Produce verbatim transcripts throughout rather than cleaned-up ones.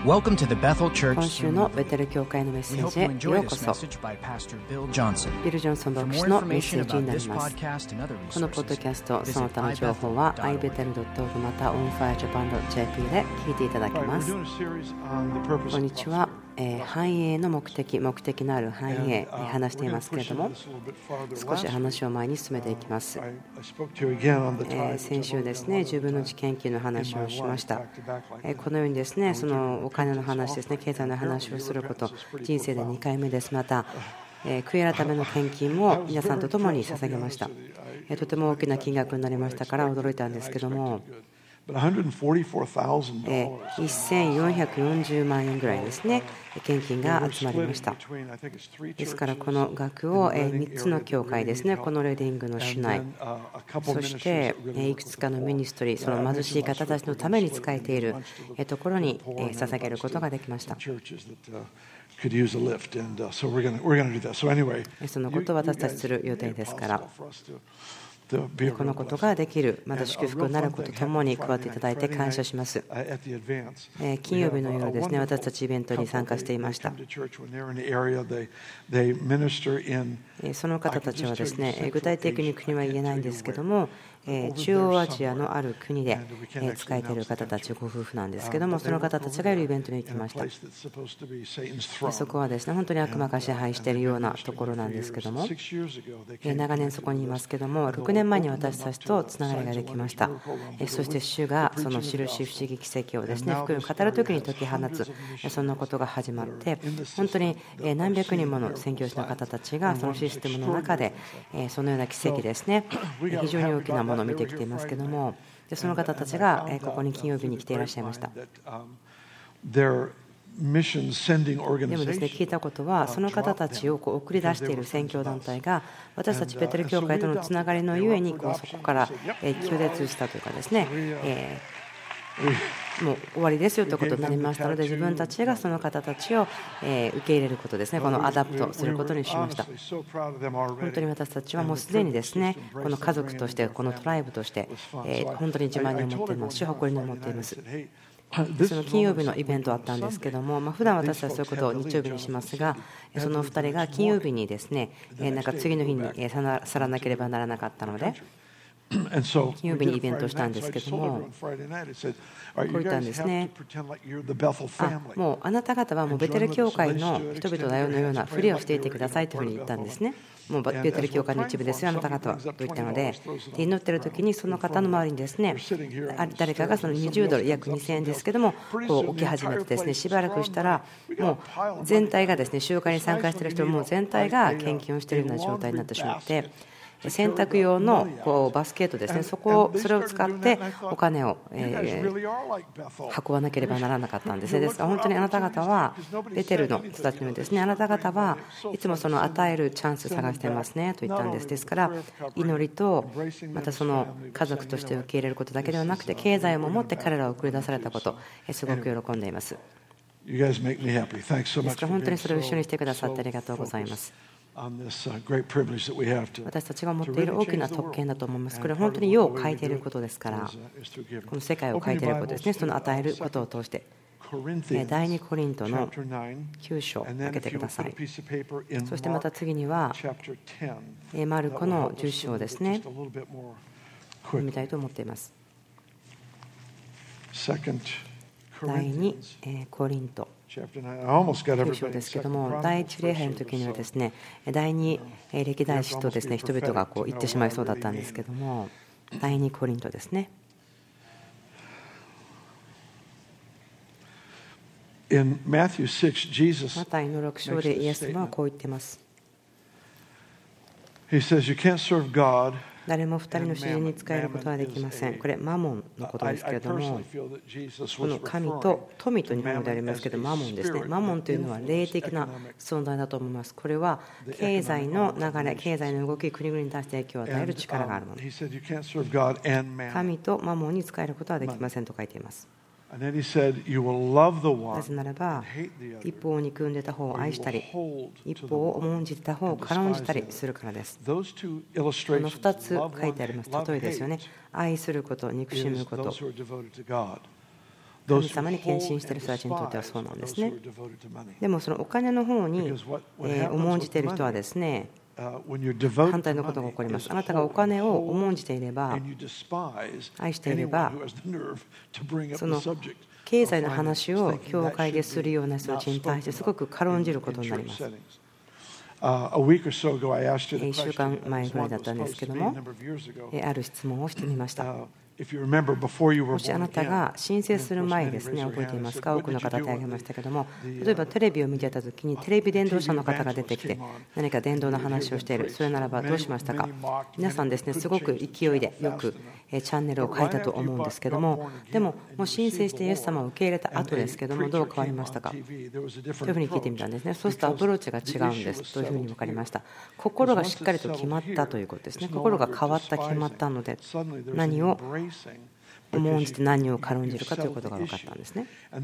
Welcome to the Bethel Church 今週のベテル教会のメッセ We ー hope ジ you へ enjoy ようこ this そ。 message by Pastor Bill Johnson. ビル・ジョンソン For 牧 more 師のメッ information セージに about なり this ます。 podcast and other このポッド resources, キャスト、そ visit の他の情報は アイベテルドットオール また オンファイアジャパンドットジェーピー で聞いていただけます。こんにちは。えー繁栄の目的、目的のある繁栄、話していますけれども、少し話を前に進めていきます。えー先週ですね、じゅうぶんのいち献金の話をしました。えーこのようにですね、そのお金の話ですね、経済の話をすること、人生でにかいめです。また、えー悔い改めの献金も皆さんと共に捧げました。えーとても大きな金額になりましたから驚いたんですけども、えーせんよんひゃくよんじゅうまんえんぐらいですね、献金が集まりました。ですからこの額をみっつの教会ですね、このレディングの主内、そしていくつかのミニストリー、その貧しい方たちのために使えているところに捧げることができました。そのことを私たちする予定ですから、このことができる、また祝福になることともに加わっていただいて感謝します。金曜日の夜ですね、私たちイベントに参加していました。その方たちはですね、具体的に国は言えないんですけども、中央アジアのある国で仕えている方たちご夫婦なんですけども、その方たちがいるイベントに行きました。そこはですね、本当に悪魔が支配しているようなところなんですけども、長年そこにいますけども、ろくねんまえに私たちとつながりができました。そして主がその印不思議奇跡をですね、福音を語るときに解き放つ、そんなことが始まって、本当に何百人もの宣教師の方たちがそのシステムの中でそのような奇跡ですね、非常に大きなものを見てきていますけども、でその方たちがここに金曜日に来ていらっしゃいました。でもですね、聞いたことは、その方たちをこう送り出している宣教団体が私たちベテル教会とのつながりのゆえにこうそこから拒絶したというかですね、えー、もう終わりですよということになりましたので、自分たちがその方たちを受け入れることですね、このアダプトすることにしました。本当に私たちはもうすでにですね、この家族として、このトライブとして本当に自慢に思っていますし、誇りに思っています。その金曜日のイベントあったんですけども、まあ、普段私はそういうことを日曜日にしますが、そのふたりが金曜日にですね、なんか次の日に去らなければならなかったので、金曜日にイベントをしたんですけども、こう言ったんですね。あ、もうあなた方はもうベテル教会の人々だよのようなふりをしていてくださいというふうに言ったんですね。もうベテル教会の一部ですよ、あなた方はと言ったので、祈っている時にその方の周りにですね、誰かがそのにじゅうドル、約にせんえんですけども、こう置き始めてですね、しばらくしたら、もう全体がですね、集会に参加している人も全体が献金をしているような状態になってしまって、洗濯用のこうバスケットですね、そこをそれを使ってお金をえ運ばなければならなかったんですね。ですから本当にあなた方はベテルの人たちにですね、あなた方はいつもその与えるチャンス探してますねと言ったんです。ですから祈りとまたその家族として受け入れることだけではなくて、経済をもって彼らを送り出されたこと、すごく喜んでいます。ですから本当にそれを一緒にしてくださってありがとうございます。私たちが持っている大きな特権だと思います。これは本当に世を変えていることですから、この世界を変えていることですね、その与えることを通して。だいにコリントのきゅう章を開けてください。そしてまた次にはマルコのじゅっ章ですね、読みたいと思っています。だいにコリントきゅう章ですけども、第一礼拝の時にはですね、第二歴代史とですね、人々がこう言ってしまいそうだったんですけども、第二コリントですね。マタイのろく章でイエス様はこう言っています。誰も二人の主人に仕えることはできません。これマモンのことですけれども、この神と富と日本語でありますけど、マモンですね。マモンというのは霊的な存在だと思います。これは経済の流れ、経済の動き、国々に対して影響を与える力があるもの。神とマモンに仕えることはできませんと書いています。なぜならば、一方を憎んでた方を愛したり、一方を重んじてた方を軽んじたりするからです。このふたつ書いてあります。例えですよね。愛すること、憎しむこと。 神様に献身している人たちにとってはそうなんですね。でもそのお金の方に重んじている人はですね、反対のことが起こります。あなたがお金を重んじていれば、愛していれば、その経済の話を教会でするような人たちに対してすごく軽んじることになります。いっしゅうかんまえぐらいだったんですけども、ある質問をしてみました。もしあなたが申請する前ですね、覚えていますか？多くの方手を挙げましたけども、例えばテレビを見てた時にテレビ伝道者の方が出てきて何か伝道の話をしている。それならばどうしましたか？皆さんですね、すごく勢いでよくチャンネルを変えたと思うんですけども、でももう申請してイエス様を受け入れた後ですけども、どう変わりましたかというふうに聞いてみたんですね。そうするとアプローチが違うんですというふうに分かりました。心がしっかりと決まったということですね。心が変わった、決まったので、何を重んじて何を軽んじるかということが分かったんですね。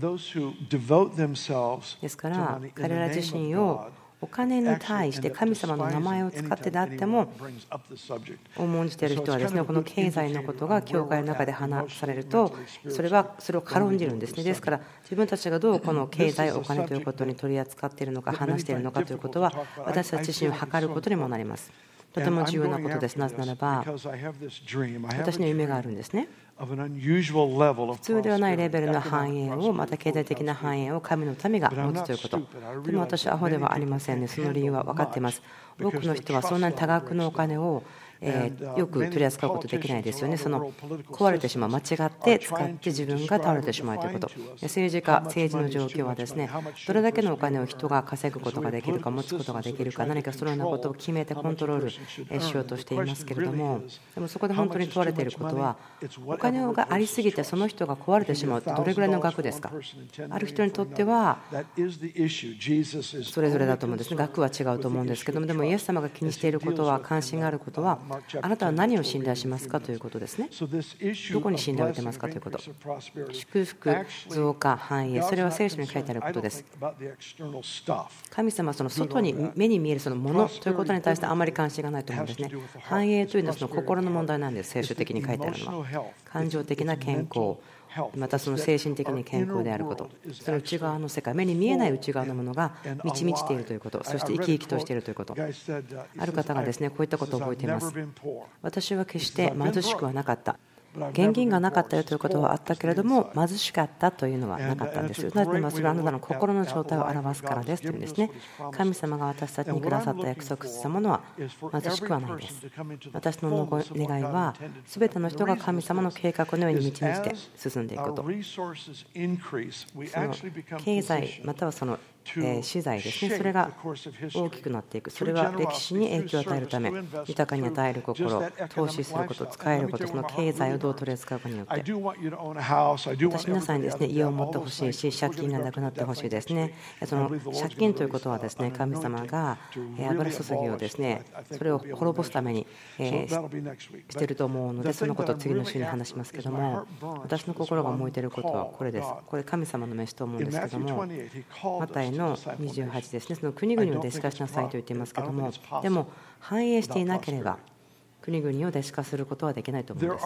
ですから彼ら自身をお金に対して神様の名前を使ってであっても重んじている人はですね、この経済のことが教会の中で話されると、それはそれを軽んじるんですね。ですから自分たちがどうこの経済、お金ということに取り扱っているのか、話しているのかということは、私たち自身を測ることにもなります。とても重要なことです。なぜならば私の夢があるんですね。普通ではないレベルの繁栄を、また経済的な繁栄を神の民が持つということ。でも私はアホではありませんね。その理由は分かっています。多くの人はそんなに多額のお金をえー、よく取り扱うことできないですよね。その壊れてしまう、間違って使って自分が倒れてしまうということ。政治家、政治の状況はですね、どれだけのお金を人が稼ぐことができるか、持つことができるか、何かそのようなことを決めてコントロールしようとしていますけれども、でもそこで本当に問われていることは、お金がありすぎてその人が壊れてしまうってどれぐらいの額ですか。ある人にとってはそれぞれだと思うんですね。額は違うと思うんですけども、でもイエス様が気にしていることは、関心があることは、あなたは何を信頼しますかということですね。どこに信頼を置いてますかということ。祝福、増加、繁栄、それは聖書に書いてあることです。神様はその外に目に見えるそのものということに対してあまり関心がないと思うんですね。繁栄というのはその心の問題なんです。聖書的に書いてあるのは感情的な健康、またその精神的に健康であること、その内側の世界、目に見えない内側のものが満ち満ちているということ、そして生き生きとしているということ。ある方がですね、こういったことを覚えています。私は決して貧しくはなかった。現金がなかったよということはあったけれども、貧しかったというのはなかったんですよ。なぜならそれはあなたの心の状態を表すからですというんですね。神様が私たちにくださった約束したものは貧しくはないです。私の願いは、すべての人が神様の計画のように満ち満ちて進んでいくこと。その経済またはその資材ですね、それが大きくなっていく。それは歴史に影響を与えるため、豊かに与える心、投資すること、使えること、その経済をどう取り扱うかによって、私皆さんにですね、家を持ってほしいし、借金がなくなってほしいですね。その借金ということはですね、神様が油注ぎをですね、それを滅ぼすためにしていると思うので、そのことを次の週に話しますけども、私の心が燃えていることはこれです。これ神様の召しと思うんですけども、マタイのにじゅうはちですね、その国々を弟子化しなさいと言っていますけども、でも繁栄していなければ国々を弟子化することはできないと思うんです。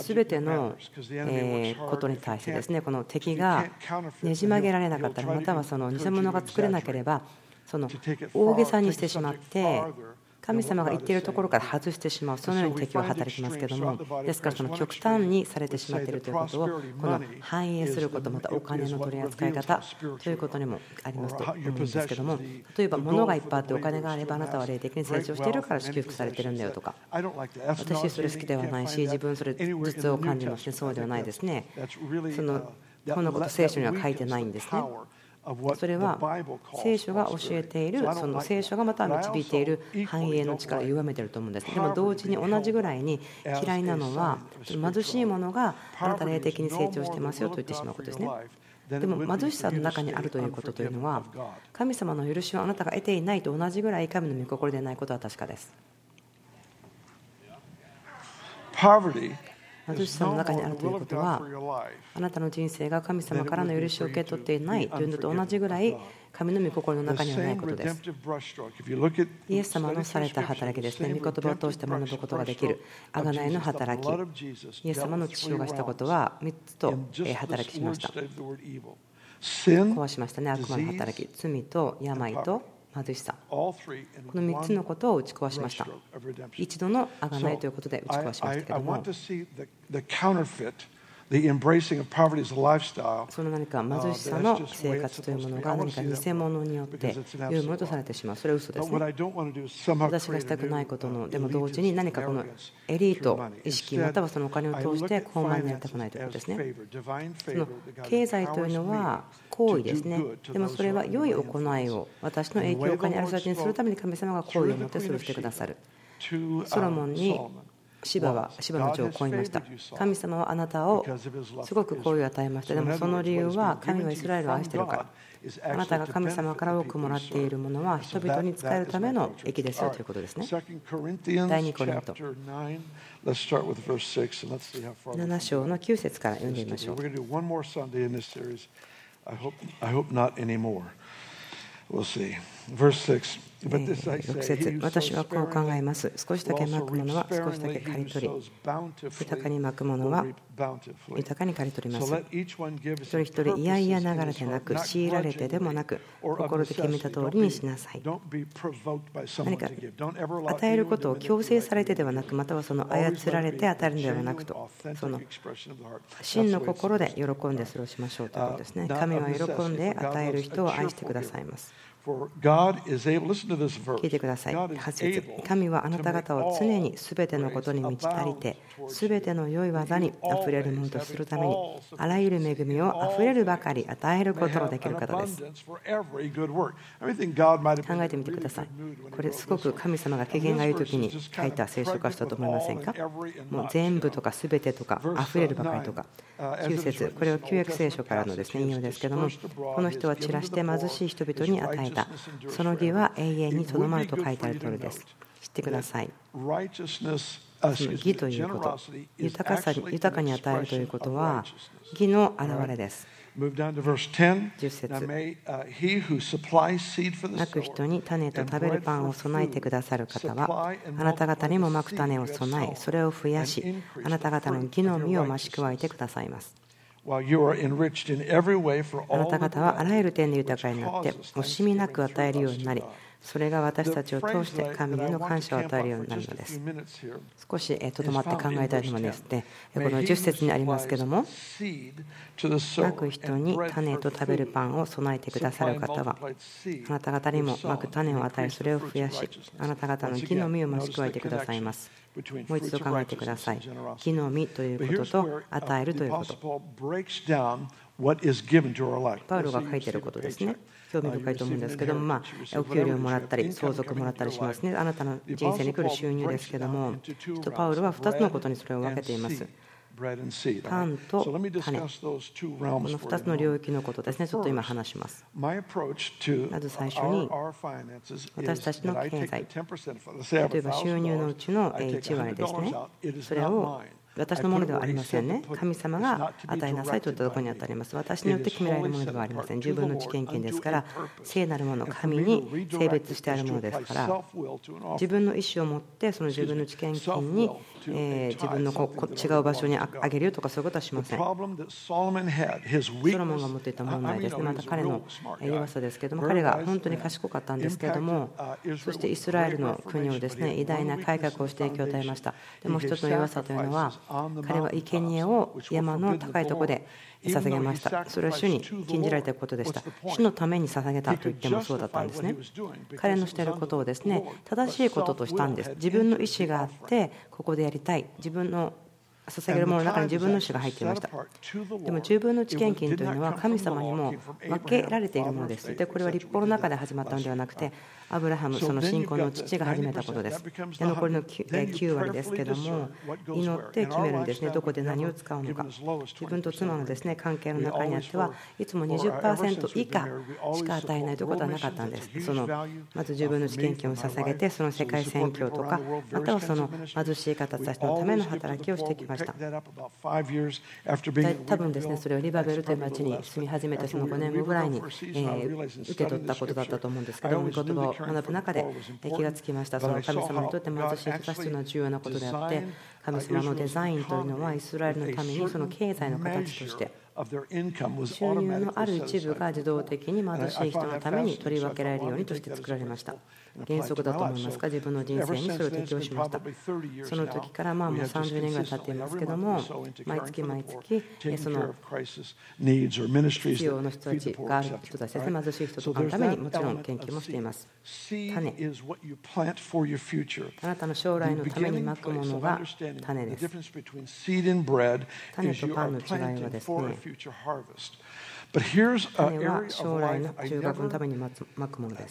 すべてのことに対してですね、この敵がねじ曲げられなかったら、またはその偽物が作れなければ、その大げさにしてしまって神様が言っているところから外してしまう、そのように敵は働きますけれども、ですからその極端にされてしまっているということを、この反映すること、またお金の取り扱い方ということにもありますと思うんですけども、例えば物がいっぱいあってお金があればあなたは霊的に成長しているから祝福されているんだよとか、私それ好きではないし、自分それ実を感じますね。そうではないですね。そのこんなこと聖書には書いてないんですね。それは聖書が教えている、その聖書がまた導いている繁栄の力を歪めていると思うんです。でも同時に同じぐらいに嫌いなのは、貧しいものがあなた霊的に成長してますよと言ってしまうことですね。でも貧しさの中にあるということというのは、神様の許しをあなたが得ていないと同じぐらい神の御心でないことは確かです。貧しさの中にあるということは、あなたの人生が神様からの許しを受け取っていないというのと同じぐらい神の御心の中にはないことです。イエス様のされた働きですね、御言葉を通して学ぶことができる贖いの働き、イエス様の血潮がしたことはみっつと働きしました。壊しましたね、悪魔の働き、罪と病と貧しさ、このみっつのことを打ち壊しました。一度の贖いということで打ち壊しましたけども、その何か貧しさの生活というものが何か偽物によっていうものとされてしまう。それは嘘ですね。私がしたくないことのでも同時に何かこのエリート意識またはそのお金を通して高慢になりたくないということですね。その経済というのは行為ですね。でもそれは良い行いを私の影響下にある人たちにするために神様が行為をもってそれをしてくださる。ソロモンにシバはシバの長をこう言いました。神様はあなたをすごく好意を与えました。でもその理由は神はイスラエルを愛しているから。あなたが神様から多くもらっているものは人々に使えるための益ですよということですね。第二コリントなな章のきゅう節から読んでみましょう。ろく節、私はこう考えます。少しだけまくものは少しだけ刈り取り、豊かにまくものは豊かに刈り取ります。一人一人いやいやながらでなく、強いられてでもなく、心で決めた通りにしなさい。何か与えることを強制されてではなく、またはその操られて与えるのではなくと、その真の心で喜んでそれをしましょうということですね。神は喜んで与える人を愛してくださいます。聞いてください。はち節、神はあなた方を常にすべてのことに満ち足りて、すべての良い技にあふれるものとするために、あらゆる恵みをあふれるばかり与えることのできる方です。考えてみてください。これすごく神様が機嫌がいい時に書いた聖書箇所だと思いませんか？もう全部とかすべてとかあふれるばかりとか。きゅう節、これは旧約聖書からのですね引用ですけども、この人は散らして貧しい人々に与えた。その義は永遠にとどまると書いてある通りです。知ってください。その義ということ、豊かさに豊かに与えるということは義の表れです。じゅっ節、まく人に種と食べるパンを備えてくださる方は、あなた方にもまく種を備え、それを増やし、あなた方の義の実を増し加えてくださいます。あなた方はあらゆる点で豊かになって惜しみなく与えるようになり、それが私たちを通して神への感謝を与えるようになるのです。少しとどまって考えたいのはですね、このじゅっ節にありますけども、まく人に種と食べるパンを備えてくださる方は、あなた方にもまく種を与え、それを増やし、あなた方の義の実を増し加えてくださいます。もう一度考えてください。義の実ということと与えるということ。パウロが書いていることですね。興味深いと思うんですけども、まあ、お給料をもらったり相続もらったりしますね。あなたの人生に来る収入ですけども、パウロはふたつのことにそれを分けています。パンと種、このふたつの領域のことですね。ちょっと今話します。まず最初に、私たちの経済、例えば収入のうちのいち割ですね。それを私のものではありませんね。神様が与えなさいといったところに与えます。私によって決められるものではありません。じゅうぶんのいち献金ですから、聖なるもの、神に性別してあるものですから、自分の意思を持ってそのじゅうぶんのいち献金に、えー、自分のここ違う場所にあげるとかそういうことはしません。ソロモンが持っていた問題ですね。また彼の弱さですけれども、彼が本当に賢かったんですけれども、そしてイスラエルの国をですね、偉大な改革をして影響を与えました。でも一つの弱さというのは、彼は生贄を山の高いところで捧げました。それは主に禁じられたことでした。主のために捧げたと言ってもそうだったんですね。彼のしていることをですね、正しいこととしたんです。自分の意思があってここでやりたい、自分の捧げるものの中に自分の意思が入っていました。でもじゅうぶんのいち献金というのは神様にも分けられているものです。でこれは律法の中で始まったのではなくて、 アブラハム、その信仰の父が始めたことです。で残りのきゅう割ですけども、祈って決めるんですね、どこで何を使うのか。自分と妻のですね関係の中にあってはいつも にじゅっパーセント 以下しか与えないということはなかったんです。そのまず自分の資金金を捧げて、その世界宣教とか、またはその貧しい方たちのための働きをしてきました。多分ですね、それをリバベルという町に住み始めてそのごねんごぐらいに、えー、受け取ったことだったと思うんですけども、言葉を学ぶ中で気がつきました。その神様にとって貧しい人たちというのは重要なことであって、神様のデザインというのはイスラエルのためにその経済の形として収入のある一部が自動的に貧しい人のために取り分けられるようにとして作られました。原則だと思いますか。自分の人生にそれを適用しました。その時からまあもうさんじゅうねんぐらい経っていますけども、毎月毎月その必要の人たちがある人たちですね、貧しい人とかのためにもちろん研究もしています。種、あなたの将来のためにまくものが種です。種とパンの違いはですね、種は将来の収穫のためにまくものです。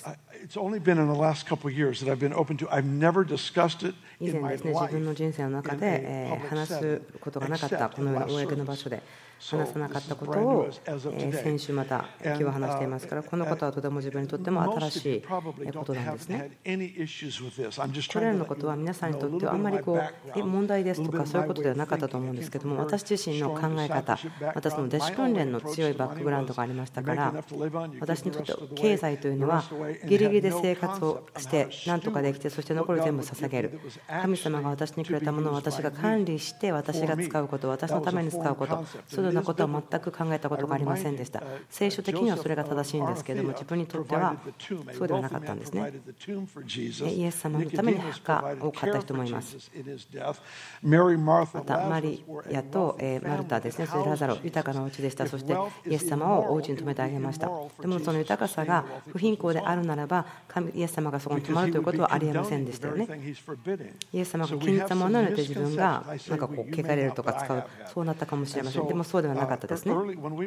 以前ですね、自分の人生の中で話すことがなかったこのような公の場所で話さなかったことを先週また今日は話していますから、このことはとても自分にとっても新しいことなんですね。これらのことは皆さんにとってはあんまりこう問題ですとかそういうことではなかったと思うんですけども、私自身の考え方、またその弟子訓練の強いバックグラウンドがありましたから、私にとって経済というのはギリギリで生活をして何とかできて、そして残り全部捧げる。神様が私にくれたものを私が管理して私が使うこと、私のために使うこと、そういうようなことは全く考えたことがありませんでした。聖書的にはそれが正しいんですけれども、自分にとってはそうではなかったんですね。イエス様のために墓を買った人もいます。またマリアとマルタですね、それラザロ、豊かなお家でした。そしてイエス様をお家に泊めてあげました。でもその豊かさが不貧困であるならば、神イエス様がそこに泊まるということはありえませんでしたよね。イエス様が気に入ったものを得て自分がなんかこう汚れるとか使う、そうなったかもしれません。でもそうではなかったですね。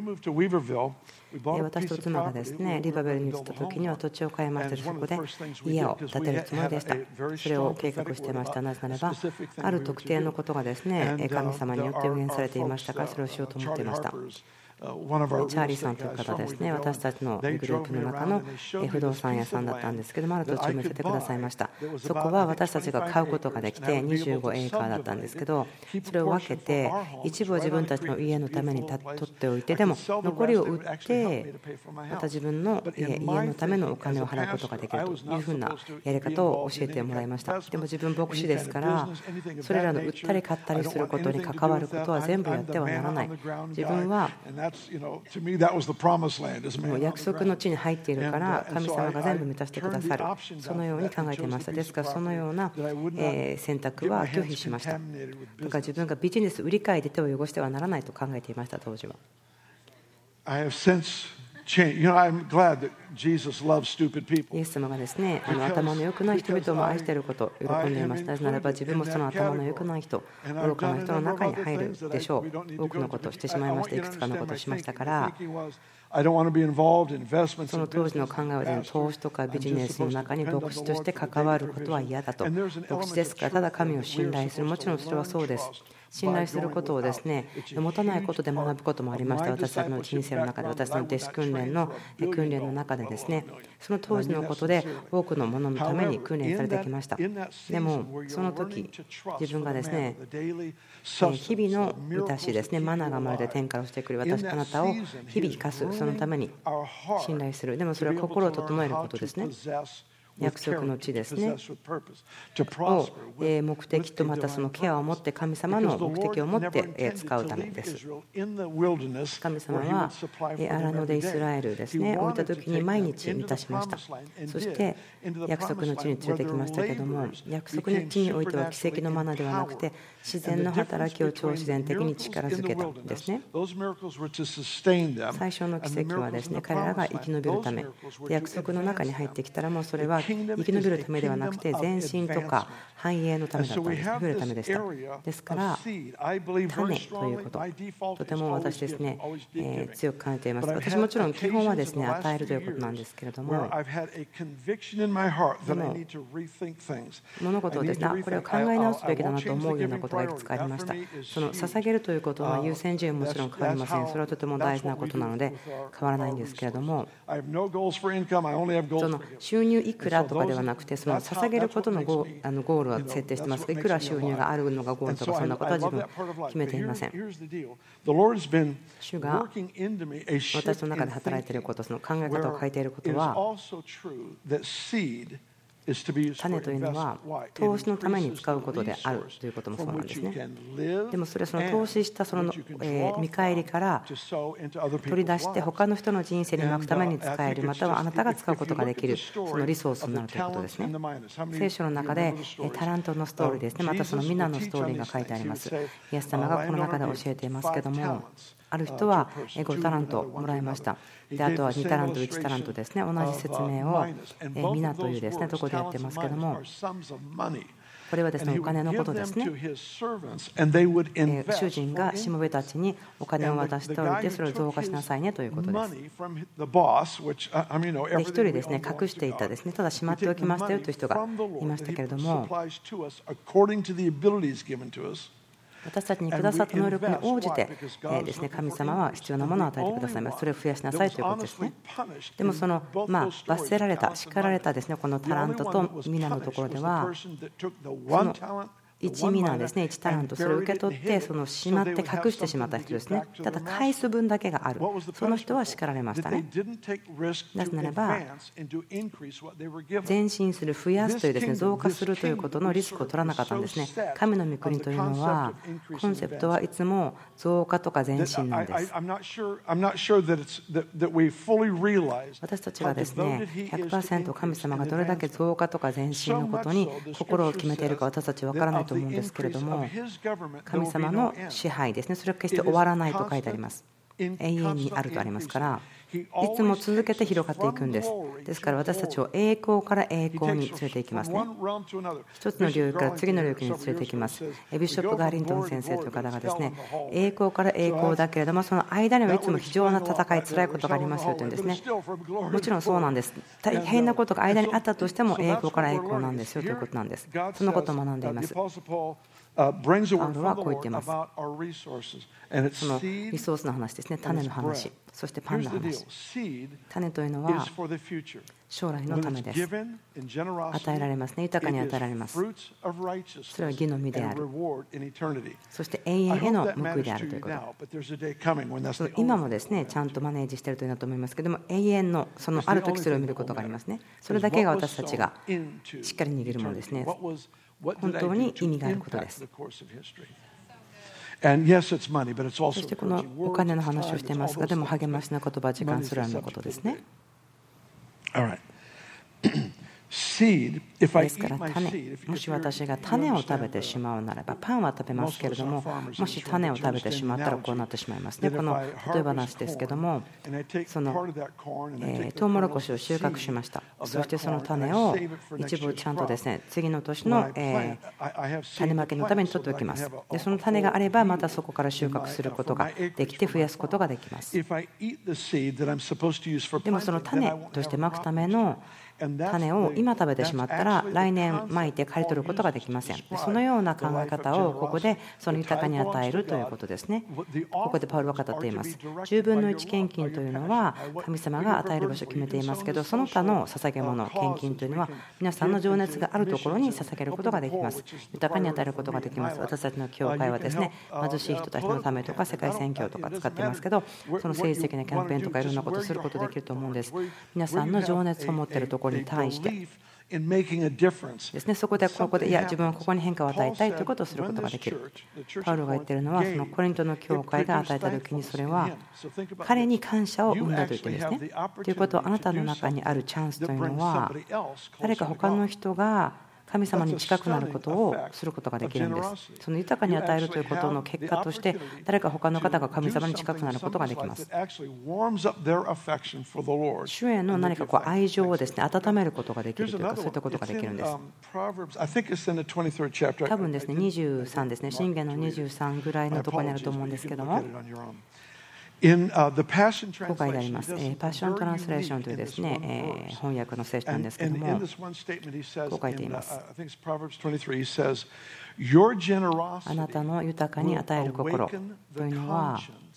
私と妻がですね、リバベルに移った時には土地を買いまして、そこで家を建てるつもりでした。それを計画していました。なぜならば、ある特定のことがですね、神様によって予言されていましたから、それをしようと思っていました。チャーリーさんという方ですね、私たちのグループの中の不動産屋さんだったんですけども、ある土地を見せてくださいました。そこは私たちが買うことができてにじゅうごエーカーだったんですけど、それを分けて一部を自分たちの家のために取っておいて、でも残りを売ってまた自分の家のためのお金を払うことができるというふうなやり方を教えてもらいました。でも自分牧師ですから、それらの売ったり買ったりすることに関わることは全部やってはならない。自分はもう約束の地に入っているから神様が全部満たしてくださる、そのように考えていました。ですからそのような選択は拒否しました。だから自分がビジネス売り買いで手を汚してはならないと考えていました。当時はイエス様がですね、あの頭の良くない人々も愛していることを喜んでいます。なぜならば自分もその頭の良くない人、愚かな人の中に入るでしょう。多くのことをしてしまいました。いくつかのことをしましたから、その当時の考えは投資とかビジネスの中に牧師として関わることは嫌だと。牧師ですからただ神を信頼する、もちろんそれはそうです。信頼することをですね、持たないことで学ぶこともありました。私たちの人生の中で、私の弟子訓練の訓練の中でですね、その当時のことで多くのもののために訓練されてきました。でもその時自分がですね、日々の満たしですね、マナーがまるで天から落ちてくる、私あなたを日々生かす、そのために信頼する。でもそれは心を整えることですね。約束の地ですねを目的と、またそのケアを持って神様の目的を持って使うためです。神様は荒野でイスラエルですね置いた時に毎日満たしました。そして約束の地に連れてきましたけども、約束の地においては奇跡のマナではなくて自然の働きを超自然的に力づけたんですね。最初の奇跡はですね、彼らが生き延びるため、約束の中に入ってきたら、もうそれは生き延びるためではなくて、前進とか繁栄のためだったんです。増えるためでした。ですから、種ということ、とても私ですね、えー、強く感じています。私もちろん基本はですね、与えるということなんですけれども、でも物事をですね、これを考え直すべきだなと思うようなことがいくつかありました。その捧げるということは優先順位はもちろん変わりません。それはとても大事なことなので変わらないんですけれども、その収入いくらとかではなくて、その捧げることのゴー、あのゴールは設定していますが、いくら収入があるのがゴールとかそんなことは自分決めていません。主が私の中で働いていること、その考え方を変えていることは、種というのは投資のために使うことであるということもそうなんですね。でもそれはその投資したその見返りから取り出して他の人の人生にまくために使える、またはあなたが使うことができるそのリソースになるということですね。聖書の中でタラントのストーリーですね、またその皆のストーリーが書いてあります。イエス様がこの中で教えていますけども、ある人はごタラントもらいました。であとはにタラントいちタラントですね。同じ説明を皆というですねところでやってますけども、これはですねお金のことですね。主人がしもべたちにお金を渡しておいて、それを増加しなさいねということです。で一人ですね隠していたですね、ただしまっておきましたよという人がいましたけれども、私たちにくださった能力に応じてですね、神様は必要なものを与えてくださいます。それを増やしなさいということですね。でもそのまあ罰せられた、叱られたですねこのタラントと皆のところでは、そのいちミナですね、いちタラント、それを受け取ってそのしまって隠してしまった人ですね。ただ返す分だけがある、その人は叱られましたね。なぜならば前進する、増やすというですね、増加するということのリスクを取らなかったんですね。神の御国というのはコンセプトはいつも増加とか前進なんです。私たちがですね ひゃくパーセント 神様がどれだけ増加とか前進のことに心を決めているか私たちは分からないと思うんですけれども、神様の支配ですね、それは決して終わらないと書いてあります。永遠にあるとありますから、いつも続けて広がっていくんです。ですから私たちを栄光から栄光に連れていきますね。一つの領域から次の領域に連れていきます。ビショップ・ガーリントン先生という方がですね、栄光から栄光だけれどもその間にはいつも非常な戦い、辛いことがありますよというんですね。もちろんそうなんです。大変なことが間にあったとしても栄光から栄光なんですよということなんです。そのことを学んでいます。パウロはこう言っています。そのリソースの話ですね、種の話、そしてパンの話。種というのは将来のためです。与えられますね、豊かに与えられます。それは義の実である、そして永遠への報いであるということ。その今もですねちゃんとマネージしているというのだと思いますけども、永遠のそのある時それを見ることがありますね。それだけが私たちがしっかり握るものですね。本当に意味があることです。そしてこのお金の話をしていますが、でも励ましの言葉、時間それらのことですね。ですから種、もし私が種を食べてしまうならば、パンは食べますけれども、もし種を食べてしまったらこうなってしまいますね。この例え話ですけども、そのえートウモロコシを収穫しました。そしてその種を一部ちゃんとですね次の年のえー種まきのために取っておきます。でその種があればまたそこから収穫することができて増やすことができます。でもその種としてまくための種を今食べてしまったら来年まいて刈り取ることができません。そのような考え方をここでその豊かに与えるということですね。ここでパウロは語っています。じゅうぶんのいち献金というのは神様が与える場所を決めていますけど、その他の捧げ物、献金というのは皆さんの情熱があるところに捧げることができます。豊かに与えることができます。私たちの教会はですね貧しい人たちのためとか世界宣教とか使ってますけど、その政治的なキャンペーンとかいろんなことをすることができると思うんです。皆さんの情熱を持っているところに対してですね、そこでここでいや自分はここに変化を与えたいということをすることができる。パウロが言っているのはそのコリントの教会が与えた時にそれは彼に感謝を生んだと言ってるんですね。ということはあなたの中にあるチャンスというのは誰か他の人が神様に近くなることをすることができるんです。その豊かに与えるということの結果として、誰か他の方が神様に近くなることができます。主への何かこう愛情をですね、温めることができるというか、そういったことができるんです。多分ですね、にじゅうさんですね、箴言のにじゅうさんぐらいのところにあると思うんですけども、こう書いてあります。パッショントランスレーションというですね、翻訳の聖書なんですけども、こう書いています。あなたの豊かに与える心というのは、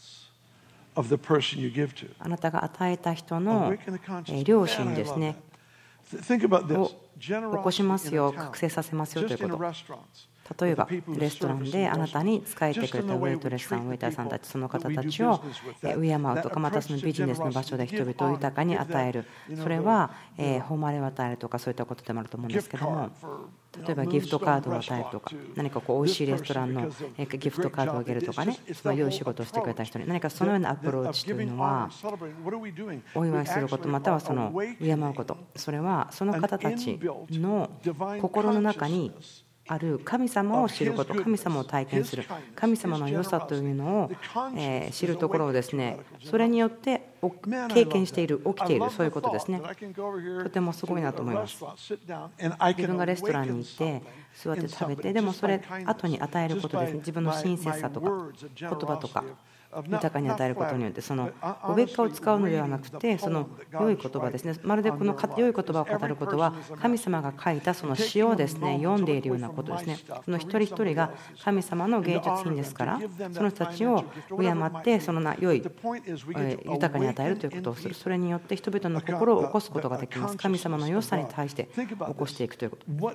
あなたが与えた人の良心ですね、を起こしますよ、覚醒させますよということ。例えばレストランであなたに仕えてくれたウェイトレスさん、ウェイターさんたち、その方たちを敬うとか、またそのビジネスの場所で人々を豊かに与える、それは誉れを与えるとか、そういったことでもあると思うんですけども、例えばギフトカードを与えるとか、何かこう美味しいレストランのギフトカードをあげるとかね、その良い仕事をしてくれた人に何かそのようなアプローチというのは、お祝いすること、またはその敬うこと、それはその方たちの心の中にある神様を知ること、神様を体験する、神様の良さというのを知るところをですね、それによって経験している、起きている、そういうことですね。とてもすごいなと思います。自分がレストランに行って座って食べて、でもそれ後に与えることですね。自分の親切さとか言葉とか豊かに与えることによって、そのおべっかを使うのではなくて、その良い言葉ですね。まるでこの良い言葉を語ることは、神様が書いたその詩をですね、読んでいるようなことですね。その一人一人が神様の芸術品ですから、その人たちを敬って、その良い豊かに与えるということをする。それによって人々の心を起こすことができます。神様の良さに対して起こしていくということ。ど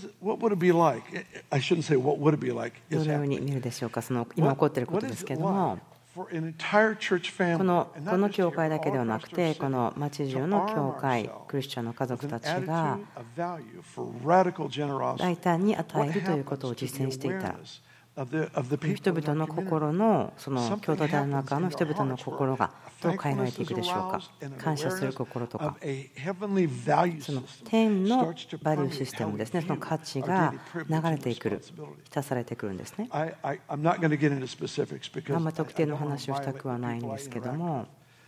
のように見るでしょうか。その今起こっていることですけれども、このこの教会だけではなくて、この町中の教会、クリスチャンの家族たちが大胆に与えるということを実践していたら、人々の心の、その共同体の中の人々の心がどう変えられていくでしょうか。感謝する心とか、その天のバリューシステムですね、その価値が流れてくる、浸されてくるんですね。あんまり特定の話をしたくはないんですけども、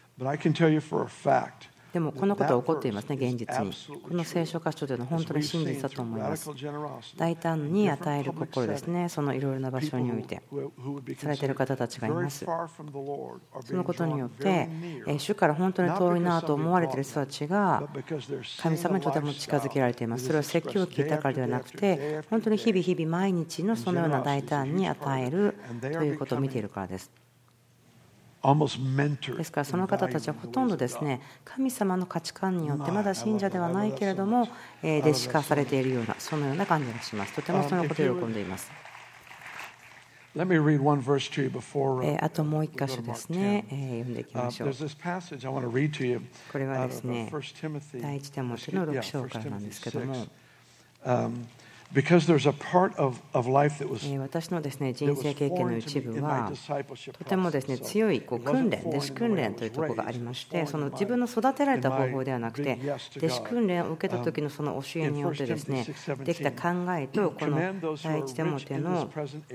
でもこのことは起こっていますね、現実に。この聖書箇所というのは本当に真実だと思います。大胆に与える心ですね、そのいろいろな場所においてされている方たちがいます。そのことによって主から本当に遠いなと思われている人たちが神様にとても近づけられています。それは説教を聞いたからではなくて、本当に日々日々毎日のそのような大胆に与えるということを見ているからです。ですからその方たちはほとんどですね、神様の価値観によってまだ信者ではないけれども弟子化されているような、そのような感じがします。とてもそのことを喜んでいます。あともう一箇所ですね、読んでいきましょう。これはですね、第一テモテのろく章からなんですけども、私のですね、人生経験の一部はとてもですね、強いこう訓練、弟子訓練というところがありまして、その自分の育てられた方法ではなくて、弟子訓練を受けた時のその教えによってですね、できた考えと、この第一テモテの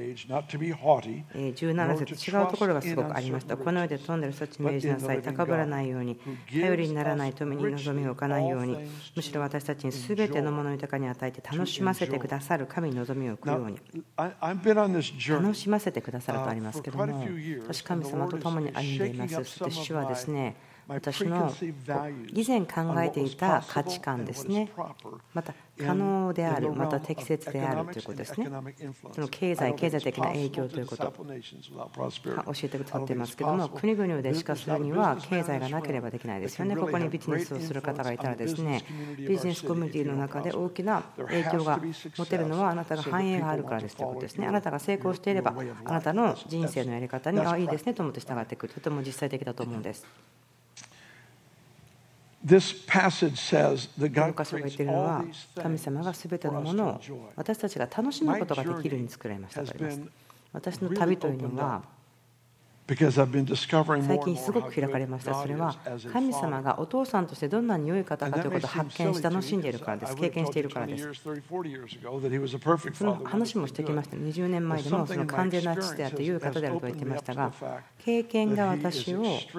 じゅうなな節、違うところがすごくありました。この世で富んでいる人たちに命じなさい。高ぶらないように、頼りにならない富に望みを置かないように、むしろ私たちに全てのものを豊かに与えて楽しませてくださる神に望みを置くように。楽しませてくださるとありますけども、私神様と共に歩んでいます。そして主はですね、私の以前考えていた価値観ですね、また可能である、また適切であるということですね。その経済、経済的な影響ということを教えてくださっていますけども、国々を弟子化するには経済がなければできないですよね。ここにビジネスをする方がいたらですね、ビジネスコミュニティの中で大きな影響が持てるのはあなたが繁栄があるからですということですね。あなたが成功していれば、あなたの人生のやり方に、あ、いいですねと思って従ってくる。とても実際的だと思うんです。この箇所が言っているのは、神様がすべてのものを私たちが楽しむことができるように作られましたとあります。私の旅というのは、 最近すごく開かれました。それは神様がお父さんとしてどんなに良い方かということを発見し楽しんでいるからです。経験しているからです。その話もしてきました。にじゅうねんまえでもその完全な父であって良い方であると言ってましたが、経験が私を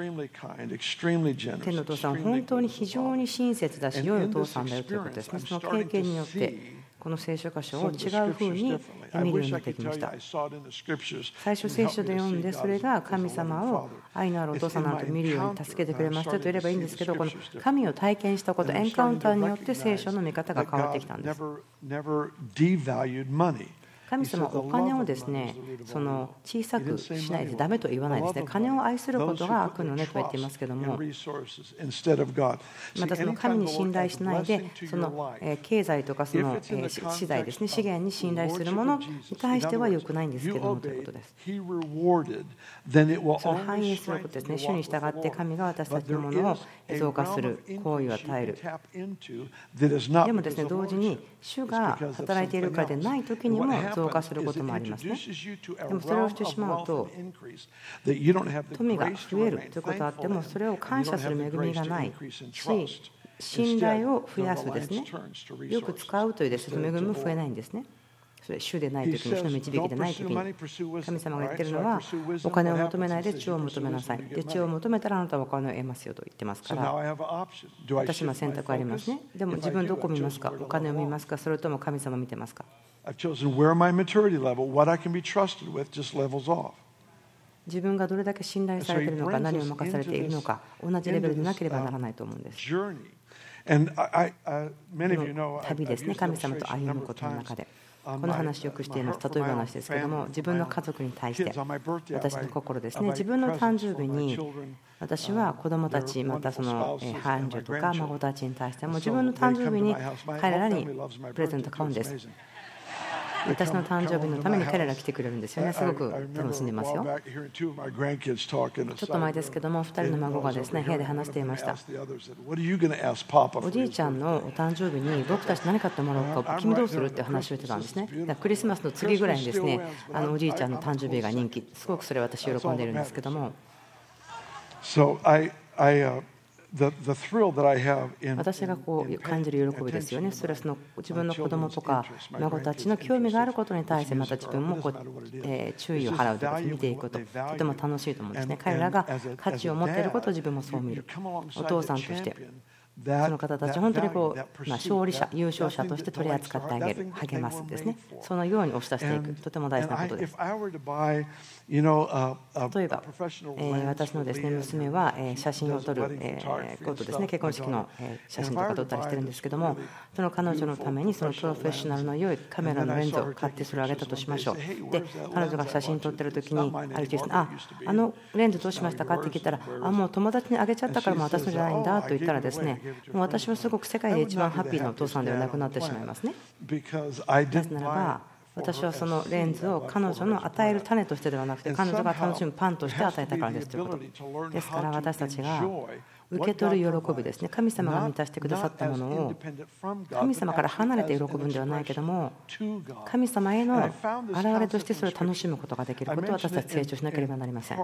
天のお父さんは本当に非常に親切だし良いお父さんだよということですね。その経験によってこの聖書箇所を違うふうに見るようになってきました。最初聖書で読んで、それが神様を愛のあるお父さんなどと見るように助けてくれましたと言えればいいんですけど、この神を体験したこと、エンカウンターによって聖書の見方が変わってきたんです。神様はお金をですね、その小さくしないでダメと言わないですね。金を愛することが悪の根と言っていますけども、またその神に信頼しないで、その経済とかその資材ですね、資源に信頼するものに対しては良くないんですけどもということです。その反映することですね。主に従って神が私たちのものを増加する行為を与える。でもですね、同時に主が働いているからでない時にも増加することもありますね。でもそれをしてしまうと、富が増えるということがあっても、それを感謝する恵みがないし、信頼を増やすですね、よく使うというですね、恵みも増えないんですね。それ主でない時に、主の導きでない時に、神様が言っているのは、お金を求めないで地を求めなさい。で、地を求めたらあなたはお金を得ますよと言ってますから、私も選択ありますね。でも自分どこを見ますか？お金を見ますか？それとも神様を見てますか？自分がどれだけ信頼されているのか、何を任されているのか、同じレベルでなければならないと思うんです。旅ですね、神様と歩むことの中で。この話よくしています。例え話ですけども、自分の家族に対して、私の心ですね、自分の誕生日に、私は子供たち、またその伴侶とか孫たちに対しても、自分の誕生日に彼らにプレゼント買うんです。私の誕生日のために彼ら来てくれるんですよね。すごく楽しんでますよ。ちょっと前ですけども、ふたりの孫がですね、部屋で話していました。おじいちゃんのお誕生日に僕たち何買ってもらおうか、君どうするって話をしてたんですね。だからクリスマスの次ぐらいにですね、あのおじいちゃんの誕生日が人気、すごくそれ私喜んでいるんですけども。私がこう感じる喜びですよね。それはその自分の子供とか孫たちの興味があることに対して、また自分もこう、えー、注意を払うということを見ていくこと、とても楽しいと思うんですね。彼らが価値を持っていることを自分もそう見る。お父さんとしてその方たちを本当にこう、まあ、勝利者、優勝者として取り扱ってあげる、励ますですね。そのように押し出していく、とても大事なことです。例えば、えー、私のですね、娘は、えー、写真を撮る、えー、ことですね、結婚式の、えー、写真とか撮ったりしてるんですけども、その彼女のためにそのプロフェッショナルの良いカメラのレンズを買ってそれをあげたとしましょう。で、彼女が写真撮ってる時に、ある日ですね、あ、あのレンズどうしましたかって聞いたら、あ、もう友達にあげちゃったからもう私のじゃないんだと言ったらですね、もう私はすごく世界で一番ハッピーなお父さんではなくなってしまいますね。なぜならば、私はそのレンズを彼女の与える種としてではなくて、彼女が楽しむパンとして与えたからですということですから、私たちが受け取る喜びですね、神様が満たしてくださったものを神様から離れて喜ぶんではないけども、神様への現れとしてそれを楽しむことができることを私たち成長しなければなりません。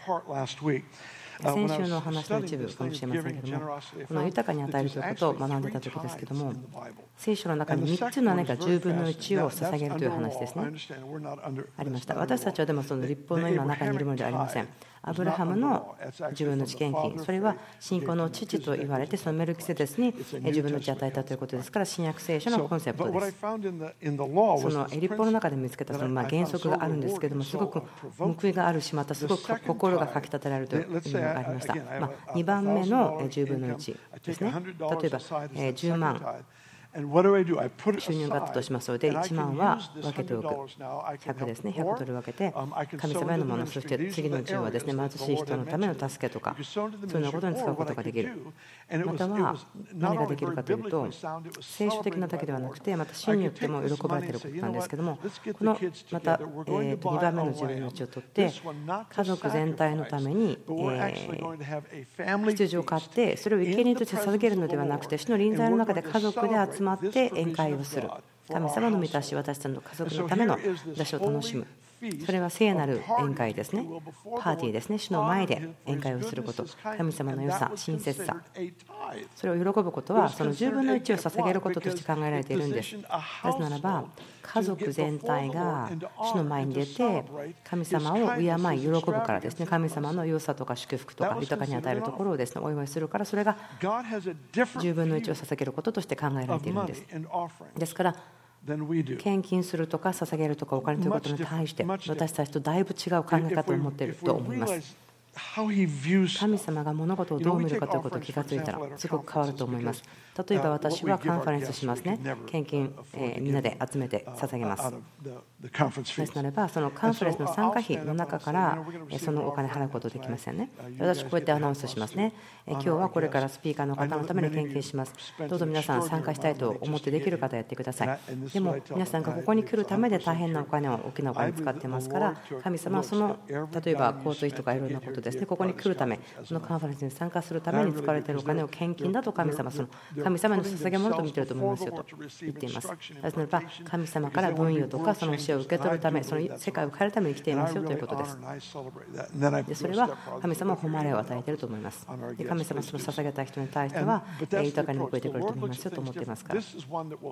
先週の話の一部かもしれませんけども、この豊かに与えるということを学んでいた時ですけども、聖書の中にみっつの何かじゅうぶんのいちを捧げるという話ですね、ありました。私たちはでもその立法の今中にいるものではありません。アブラハムのじゅうぶんのいち献金、それは信仰の父と言われて、そのメルキセデスにじゅうぶんのいち与えたということですから、新約聖書のコンセプトです。その立法の中で見つけたそのまあ原則があるんですけども、すごく報いがあるし、またすごく心がかきたてられるという意味がありました。まあ、にばんめのじゅうぶんのいちですね。例えばじゅうまん収入があったとしますので、いちまんは分けておく、ひゃくですね、ひゃくドル分けて神様へのもの、そして次のじゅうはですね、貧しい人のための助けとか、そういうようなことに使うことができる。または何ができるかというと、聖書的なだけではなくて、また真によっても喜ばれていることなんですけども、このまたえーとにばんめのじゅうぶんのいちを取って、家族全体のために羊を飼って、それを生贄として授けるのではなくて、主の臨在の中で家族で集まって宴会をする。神様の満たし、私たちの家族のための出しを楽しむ。 それは聖なる宴会ですね。パーティーですね。主の前で宴会をすること。神様の良さ、親切さ。それを喜ぶことは、そのじゅうぶんのいちを捧げることとして考えられているんです。なぜならば、家族全体が主の前に出て、神様を敬い、喜ぶからですね。神様の良さとか祝福とか豊かに与えるところをですね、お祝いするから、それがじゅうぶんのいちを捧げることとして考えられているんです。ですから、献金するとか捧げるとかお金ということに対して私たちとだいぶ違う考え方を持っていると思います。神様が物事をどう見るかということを気がついたらすごく変わると思います。例えば私はカンファレンスしますね。献金、えー、みんなで集めて捧げます。ですならばそのカンファレンスの参加費の中からそのお金払うことできませんね。私こうやってアナウンスしますね。今日はこれからスピーカーの方のために献金します。どうぞ皆さん参加したいと思ってできる方やってください。でも皆さんがここに来るためで大変なお金を大きなお金を使ってますから、神様はその例えば交通費とかいろんなことですね、ここに来るため、そのカンファレンスに参加するために使われているお金を献金だと神様、その神様の捧げ物と見ていると思いますよと言っています。なぜならば神様から分与とかその教えを受け取るため、その世界を変えるために来ていますよということです。でそれは神様は誉れを与えていると思います。で神様はその捧げた人に対しては豊かに報いてくれると思いますよと思っていますから、そ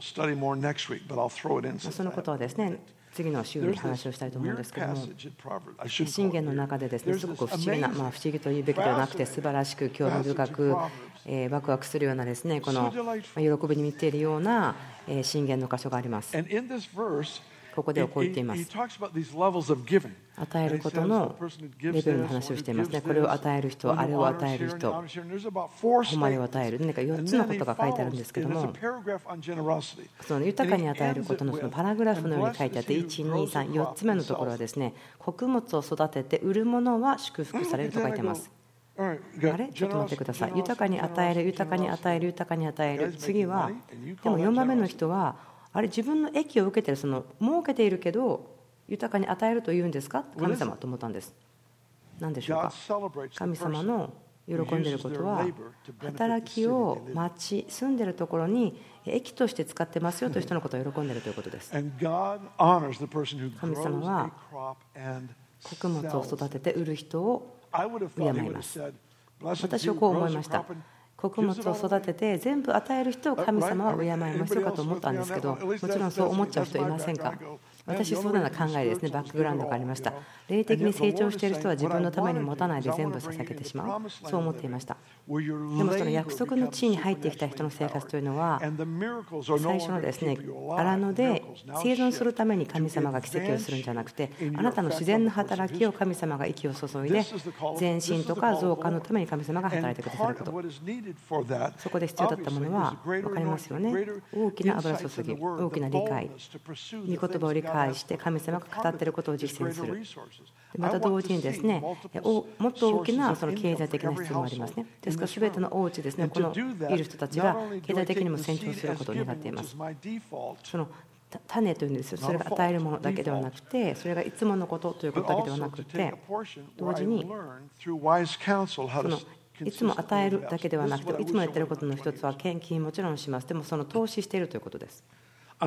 のことはですね次の週に話をしたいと思うんですけども、箴言の中でですねすごく不思議な、まあ、不思議と言うべきではなくて素晴らしく興味深く、えー、ワクワクするようなですねこの喜びに満ちているような箴言の箇所があります。ここではこう言っています。与えることのレベルの話をしていますね。これを与える人、あれを与える人、誉れを与える、何かよっつのことが書いてあるんですけども、その豊かに与えることのそのパラグラフのように書いてあって、いち、に、さん、よっつめのところはですね、穀物を育てて売るものは祝福されると書いてます。あれちょっと待ってください。豊かに与える、豊かに与える、豊かに与える。次は、でもよんばんめの人は、あれ自分の益を受けている、その儲けているけど豊かに与えるというんですか、神様と思ったんです。何でしょうか。神様の喜んでいることは働きを待ち住んでいるところに益として使ってますよという人のことを喜んでいるということです。神様は穀物を育てて売る人を敬います。私はこう思いました。穀物を育てて全部与える人を神様は敬いますよかと思ったんですけど、もちろんそう思っちゃう人いませんか。私そうなような考えですね、バックグラウンドがありました。霊的に成長している人は自分のために持たないで全部捧げてしまう、そう思っていました。でもその約束の地に入ってきた人の生活というのは最初のですね荒野で生存するために神様が奇跡をするんじゃなくて、あなたの自然な働きを神様が息を注いで前進とか増加のために神様が働いてくださること、そこで必要だったものは分かりますよね。大きな油注ぎ、大きな理解、御言葉を理解して神様が語っていることを実践する。また同時にですね、もっと大きなその経済的な必要もありますね。ですから全てのお家ですね、このいる人たちが経済的にも成長することを願っています。その種というんですよ。それが与えるものだけではなくて、それがいつものことということだけではなくて、同時にそのいつも与えるだけではなくて、いつもやっていることの一つは献金もちろんします。でもその投資しているということです。いつ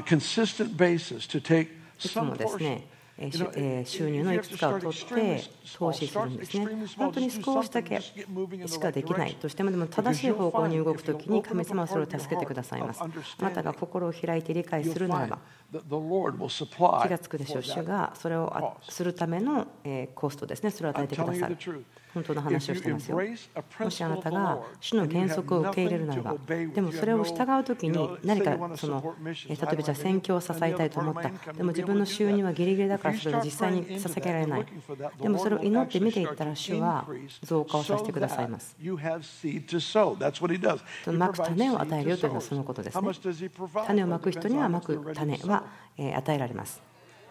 もですね、収入のいくつかを取って投資するんですね。本当に少しだけしかできないとしても、でも正しい方向に動くときに神様はそれを助けてくださいます。あなたが心を開いて理解するならば気がつくでしょう。主がそれをするためのコストですね、それを与えてくださる。本当の話をしてますよ。もしあなたが主の原則を受け入れるならば、でもそれを従うときに何かその例えばじゃあ宣教を支えたいと思った。でも自分の収入はギリギリだからそれを実際に捧げられない。でもそれを祈って見ていったら主は増加をさせてくださいます。まく種を与えるよというのはそのことですね。種をまく人にはまく種は与えられます。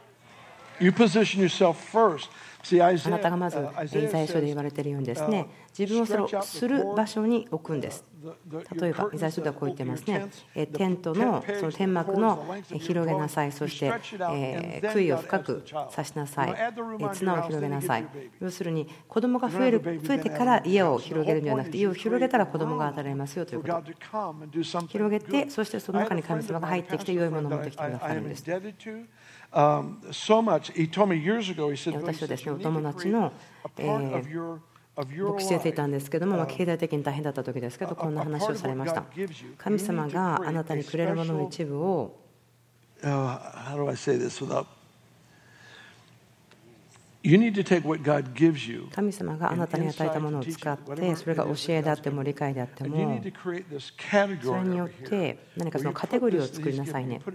あなたがまずイザヤ書で言われているようにですね、自分をそれをする場所に置くんです。例えばイザヤ書ではこう言ってますね。テントのその天幕の広げなさい、そして杭を深く刺しなさい、綱を広げなさい。要するに子供が増える増えてから家を広げるんではなくて、家を広げたら子供が与えられますよということ。広げて、そしてその中に神様が入ってきて良いものを持ってきてくださるんです。 um, so much. He told me years ago, he said, 私はですね、お you need 友 to 達 create の、 a え part of ー your, of your 牧師をしていたん life. ですけども、まあ、経済的に大変だった時ですけど、こんな話をされました。神様があなたにくれるものの一部を、 Uh, how do I say this without? You need to take what God gives you. 神様があなたに与えたものを使って、それが教えであっても理解であっても、それによって何かそのカテゴリーを作りなさいね。こ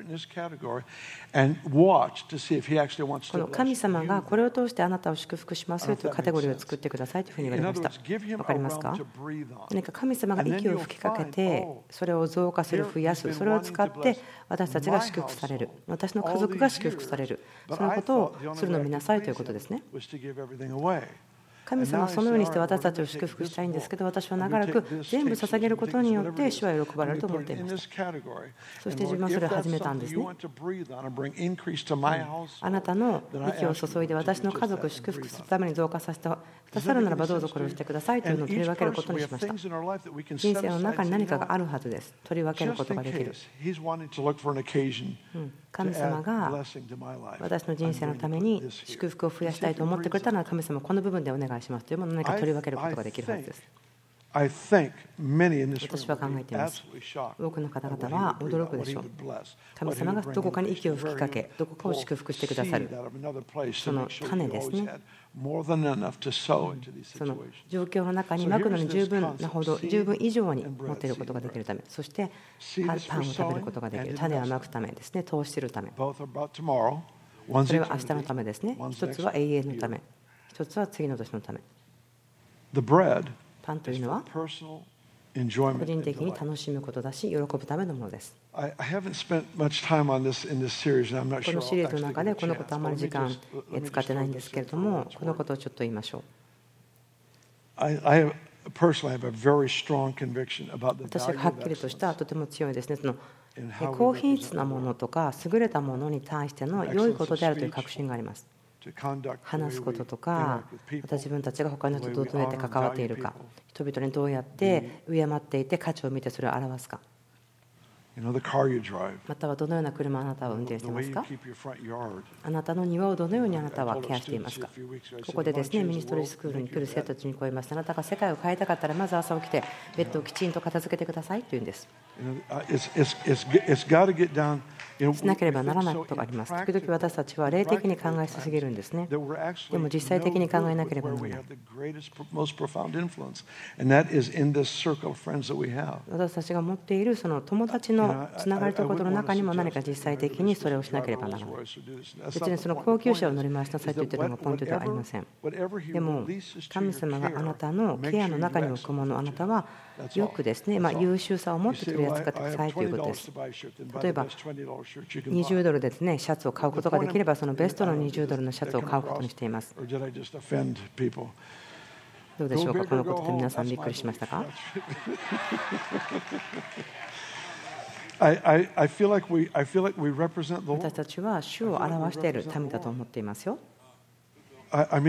の神様がこれを通してあなたを祝福しますよというカテゴリーを作ってくださいというふうに言われました。わかりますか？何か神様が息を吹きかけて、それを増加する、増やす、それを使って私たちが祝福される、私の家族が祝福される、そのことをするのを見なさいということですね。神様はそのようにして私たちを祝福したいんですけど、私は長らく全部捧げることによって主は喜ばれると思っていました。そして自分はそれを始めたんですね。あなたの息を注いで私の家族を祝福するために増加させてくださるならばどうぞこれをしてくださいというのを取り分けることにしました。人生の中に何かがあるはずです。取り分けることができる。神様が私の人生のために祝福を増やしたいと思ってくれたのは、神様この部分でお願いしますというものを何か取り分けることができるはずです。私は考えています。多くの方々は驚くでしょう。神様がどこかに息を吹きかけ、どこかを祝福してくださる、その種ですね。その状況の中にまくのに十分なほど、十分以上に持っていることができるため、そしてパンを食べることができる、種をまくためですね、投資するため。それは明日のためですね。一つは永遠のため、一つは次の年のため。パンというのは個人的に楽しむことだし、喜ぶためのものです。このシリーズの中でこのことあまり時間使ってないんですけれども、このことをちょっと言いましょう。私がはっきりとしたとても強いですね、その高品質なものとか優れたものに対しての良いことであるという確信があります。話すこととか、また自分たちが他の人とどうやって関わっているか、人々にどうやって敬っていて価値を見てそれを表すか、またはどのような車をあなたは運転していますか、あなたの庭をどのようにあなたはケアしていますか。ここでですね、ミニストリースクールに来る生徒たちにこう言いました。あなたが世界を変えたかったら、まず朝起きてベッドをきちんと片付けてくださいというんです。しなければならないことがあります。時々私たちは霊的に考えすぎるんですね。でも実際的に考えなければならない。私たちが持っているその友達のつながりということの中にも何か実際的にそれをしなければならない。別にその高級車を乗り回しなさいと言っているのがポイントではありません。でも神様があなたのケアの中に置くもの、あなたはよくですね、まあ、優秀さを持って取り扱ってくださいということです。例えばにじゅうドルですね、シャツを買うことができれば、そのベストのにじゅうドルのシャツを買うことにしています。どうでしょうか、このことで皆さんびっくりしましたか？私たちは主を表している民だと思っていますよ。この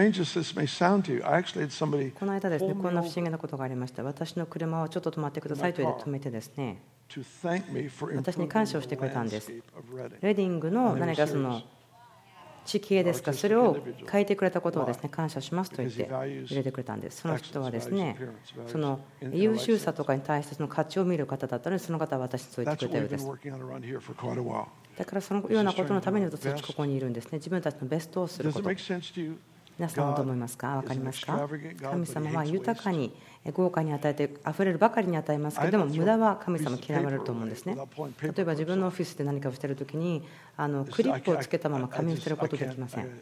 間ですね、こんな不思議なことがありました。私の車をちょっと止まってくださいと言って止めてですね、私に感謝をしてくれたんです。レディングの何かその地形ですか、それを変えてくれたことをですね、感謝しますと言って入れてくれたんです。その人はですね、その優秀さとかに対してその価値を見る方だったので、その方は私にそう言ってくれたようです。だからそのようなことのために私たちここにいるんですね。自分たちのベストをすること。皆さんはどう思いますか？分かりますか？神様は豊かに豪華に与えてあふれるばかりに与えますけれども、無駄は神様嫌われると思うんですね。例えば自分のオフィスで何かをしているときに、あのクリップをつけたまま紙を捨てることできません。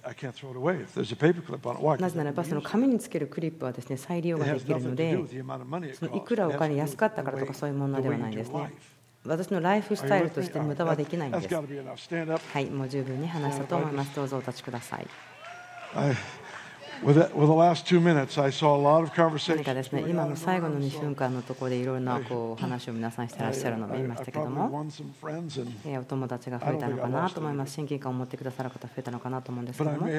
なぜならばその紙につけるクリップはですね、再利用ができるので、そのいくらお金安かったからとかそういう問題ではないですね。私のライフスタイルとして無駄はできないんです。はい、もう十分に話したと思います。どうぞお立ちください。何かですね、今の最後のにふんかんのところでいろいろなこう話を皆さんしてらっしゃるのを見ましたけども、お友達が増えたのかなと思います。親近感を持ってくださる方増えたのかなと思うんですけども、ま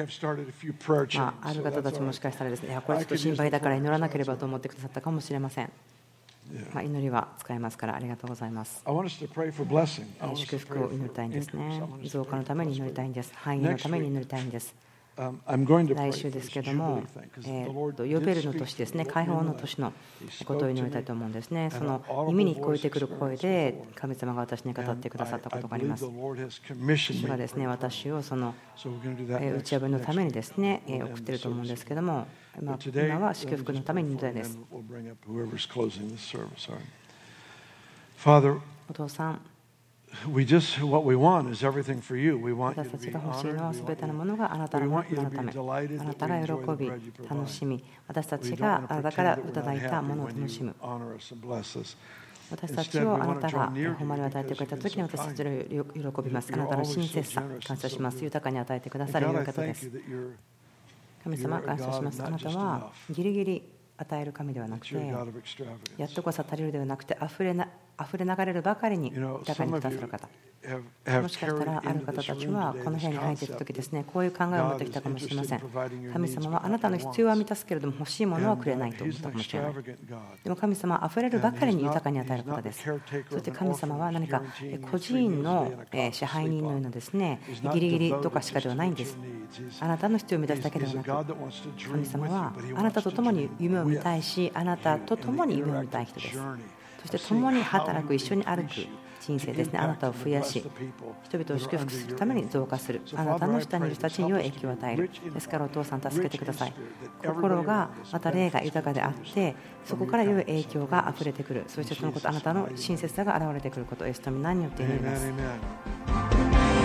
あ、ある方たちもしかしたらですね、いやこれちょっと心配だから祈らなければと思ってくださったかもしれません。 まあ、祈りは使えますからありがとうございます。 I want us to pray for blessing. I want us 祝 to 福 pray を祈りたいんです for ね increase. I want us to 増加のた pray め for に祈りたいんです。繁栄のために祈りたいんです。 Um, I'm going to pray 来週 for です this けども Jubilee thing, 'cause え the ー Lord と did ヨベルの speak 年 to ですね me, what 解 we 放の know. 年の He ことを spoke 祈 to りたい me と思うんですね。 and その an audible 耳に聞こえ voice てくる声 experience で with the Lord. 神様が私に語って And くださったこ I, と I がありま believe す the。Lord has commissioned 主 me が to ですね pray for 私をその So we're going to do that えー next, 打ち破りの next ために week. ですね、え We'll ー送 end っている the と思うんで service. すけども、ま But あ today, 今は let 祝 me 福の just ため pray に祈 for り it, たい and です。 then we'll bring up whoever's closing this service. All right. Father, お父さん、 we just, what we want is everything for you. We want you 私 to たち be が欲しい honored. のは We す want べての you, ものがあなた we のも want you の to の be ため、 delighted あな that た we が enjoy 喜 the び bread you 楽 provide. しみ、私た We ち don't が want あ to なたから pretend い that た we're だ not いたも happy のを when 楽し you む。 honor us and bless us. 私たち Instead, を we あな want to た draw が near to 誉れ you を与えて because くれた you've ときに been so 私た kind. ちの喜びます。あ You're なたの always 親 so 切さ、 generous 感 and 謝 so します。 good. 豊かに与えてくださる And 良い God, I 方で thank す you。that you're, 神様、 you're a 感謝し God ま of す。あ not なた just は enough. ギリギリ与える神ではな But く you're a て、 God of やっ extravagance. とこそ足りるではなくて、あふれな、あふれ流れるばかりに You know, 豊かに some く of ださ you る方。 have, have もしかした carried らある into 方 this たち room は today この部屋 this に入っている concept 時で that すね、こういう考えを持っ God てき is たかもしれ interested ま in せん。 providing your 神 needs, 様 but はあな not たの your 必要は wants. 満たすけれども欲しいものは And くれ uh, ないと思っ He's た an かもしれない。 extravagant God. でも神様は溢れるば And かり he's に not, 豊かに与え he's る方 not で the す。 caretaker そ of して an 神様は orphanage 何か guaranteeing you 個 three 人 meals a day の and a え cot 支 to 配人 sleep のよう on. なですね、 He's ギ not リギリ devoted とかしか just では to ないん meet で your す。 needs. あなたの必要を満た He's, すだけで he's は a な God く、 that wants to dream 神様 with you, は but he あなた wants と to 共に dream 夢を見 with たいし、あな you たと in 共 the に夢を見たい interactive 人です。 journey そして of 共 seeing に how 働 he く、一緒 would に歩 increase く you 人生 to ですね。あな impact たを and 増や bless し、 the people 人々を that 祝 are 福 under する your ために influence. 増加する。 So あなた Father, の I 下にい pray る人た this. ちに良 Help い us 影響を to 与え be る。 rich in ですからお父さん、 heart, 助けて rich くだ in さい。 spirit, that 心 everybody が around us また霊が benefits 豊かであっ continuously て、そこ from から your 良い kindness. 影 I 響 pray が this 溢れてくる。そして in そのこと、あ Jesus' なたの mighty 親 name. 切さが現れてくることをイエスの皆によって祈り Amen, ます。 amen.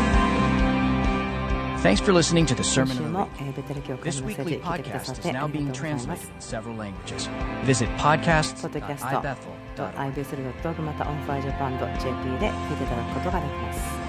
Thanks for listening to the 今 Sermon 週 of the も Week. えーベテル教会 This のメッセー weekly ジ聞いてくださ podcast っ is てあり now がとう being ございます translated in several languages. Visit podcast ポッドキャ dot スト i bethel dot org. i ベースル ドットオーアール また オンファイジャパン ドット ジェーピー で聞いていただくことができます。